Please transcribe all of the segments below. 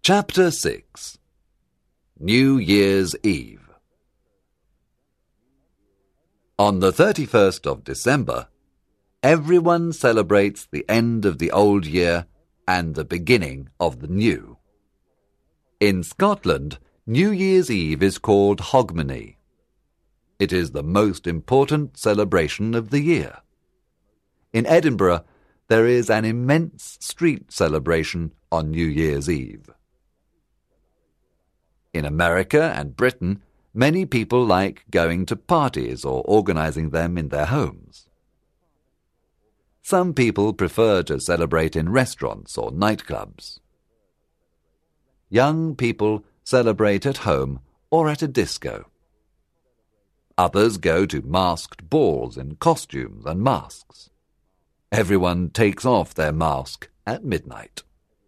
Chapter 6. New Year's Eve. On the 31st of December, everyone celebrates the end of the old year and the beginning of the new. In Scotland, New Year's Eve is called Hogmanay. It is the most important celebration of the year. In Edinburgh, there is an immense street celebration on New Year's Eve. In America and Britain, many people like going to parties or organizing them in their homes. Some people prefer to celebrate in restaurants or nightclubs. Young people celebrate at home or at a disco. Others go to masked balls in costumes and masks. Everyone takes off their mask at midnight.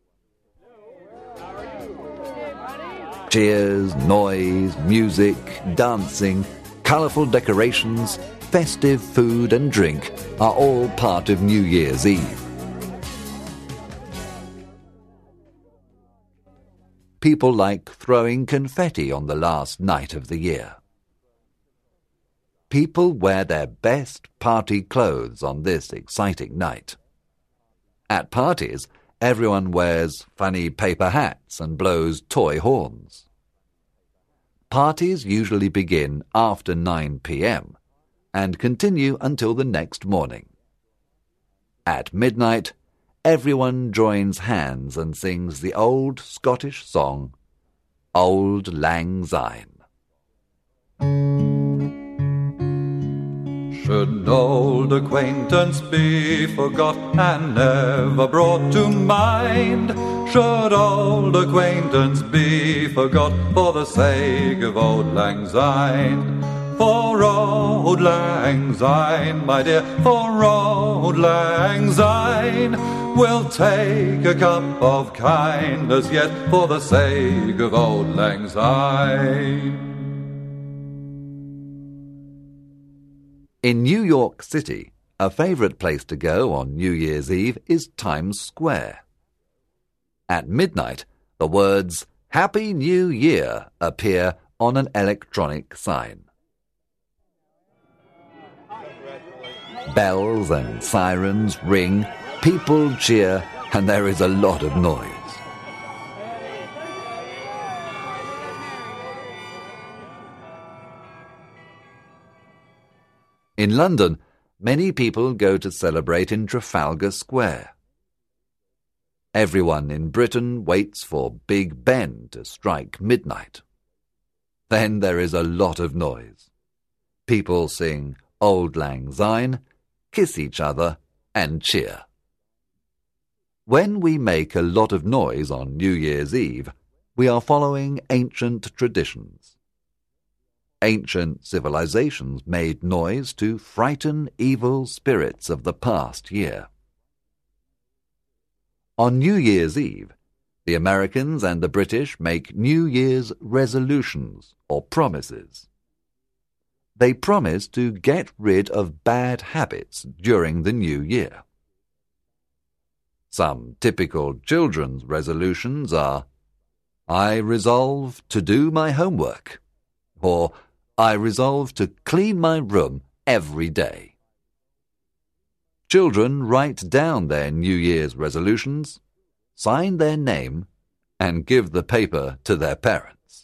Cheers, noise, music, dancing, colourful decorations, festive food and drink are all part of New Year's Eve. People like throwing confetti on the last night of the year. People wear their best party clothes on this exciting night. At parties, everyone wears funny paper hats and blows toy horns. Parties usually begin after 9 p.m. and continue until the next morning. At midnight, everyone joins hands and sings the old Scottish song, Auld Lang Syne. Should an old acquaintance be forgot and never brought to mind? Should old acquaintance be forgot for the sake of Auld Lang Syne? For Auld Lang Syne, my dear, for Auld Lang Syne, we'll take a cup of kindness yet for the sake of Auld Lang Syne. In New York City, a favorite place to go on New Year's Eve is Times Square. At midnight, the words Happy New Year appear on an electronic sign. Bells and sirens ring, people cheer, and there is a lot of noise. In London, many people go to celebrate in Trafalgar Square. Everyone in Britain waits for Big Ben to strike midnight. Then there is a lot of noise. People sing Auld Lang Syne, kiss each other, and cheer. When we make a lot of noise on New Year's Eve, we are following ancient traditions. Ancient civilizations made noise to frighten evil spirits of the past year. On New Year's Eve, the Americans and the British make New Year's resolutions or promises. They promise to get rid of bad habits during the new year. Some typical children's resolutions are, I resolve to do my homework, or I resolve to clean my room every day. Children write down their New Year's resolutions, sign their name, and give the paper to their parents.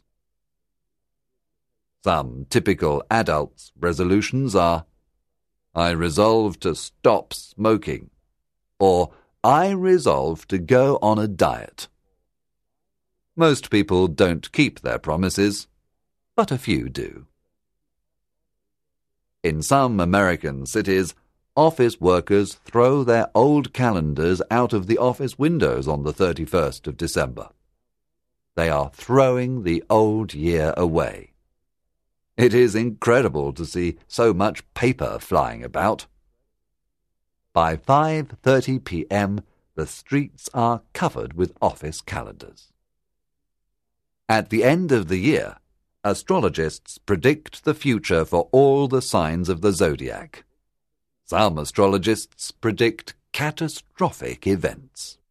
Some typical adults' resolutions are, I resolve to stop smoking, or I resolve to go on a diet. Most people don't keep their promises, but a few do. In some American cities, office workers throw their old calendars out of the office windows on the 31st of December. They are throwing the old year away. It is incredible to see so much paper flying about. By 5:30 p.m., the streets are covered with office calendars. At the end of the year, astrologists predict the future for all the signs of the zodiac. Some astrologists predict catastrophic events.